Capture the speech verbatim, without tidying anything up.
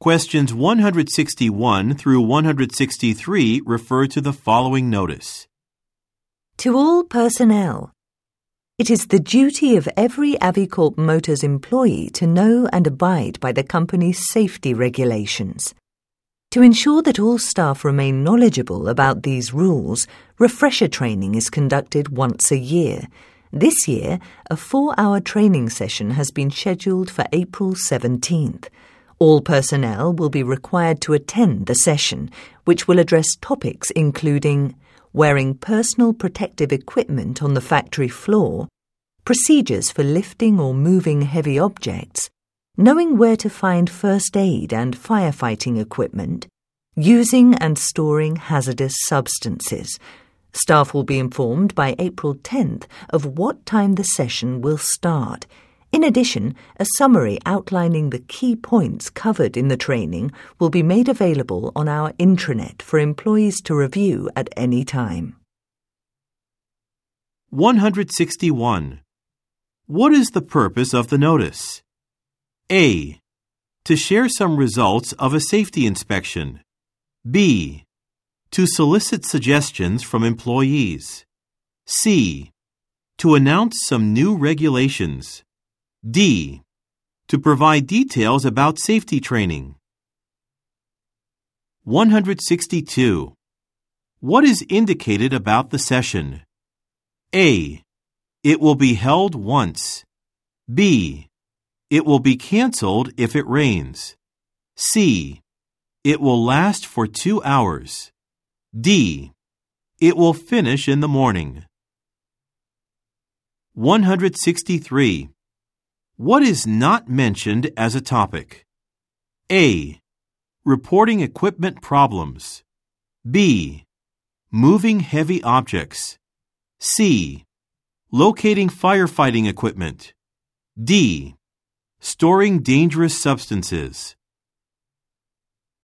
Questions one hundred sixty-one through one hundred sixty-three refer to the following notice. To all personnel, it is the duty of every Avicorp Motors employee to know and abide by the company's safety regulations. To ensure that all staff remain knowledgeable about these rules, refresher training is conducted once a year. This year, a four-hour training session has been scheduled for April seventeenth. All personnel will be required to attend the session, which will address topics including wearing personal protective equipment on the factory floor, procedures for lifting or moving heavy objects, knowing where to find first aid and firefighting equipment, using and storing hazardous substances. Staff will be informed by April tenth of what time the session will start. In addition, a summary outlining the key points covered in the training will be made available on our intranet for employees to review at any time. one hundred sixty-one. What is the purpose of the notice? A. To share some results of a safety inspection. B. To solicit suggestions from employees. C. To announce some new regulations. D. To provide details about safety training. one hundred sixty-two. What is indicated about the session? A. It will be held once. B. It will be canceled if it rains. C. It will last for two hours. D. It will finish in the morning. one hundred sixty-three. What is not mentioned as a topic? A. Reporting equipment problems. B. Moving heavy objects. C. Locating firefighting equipment. D. Storing dangerous substances.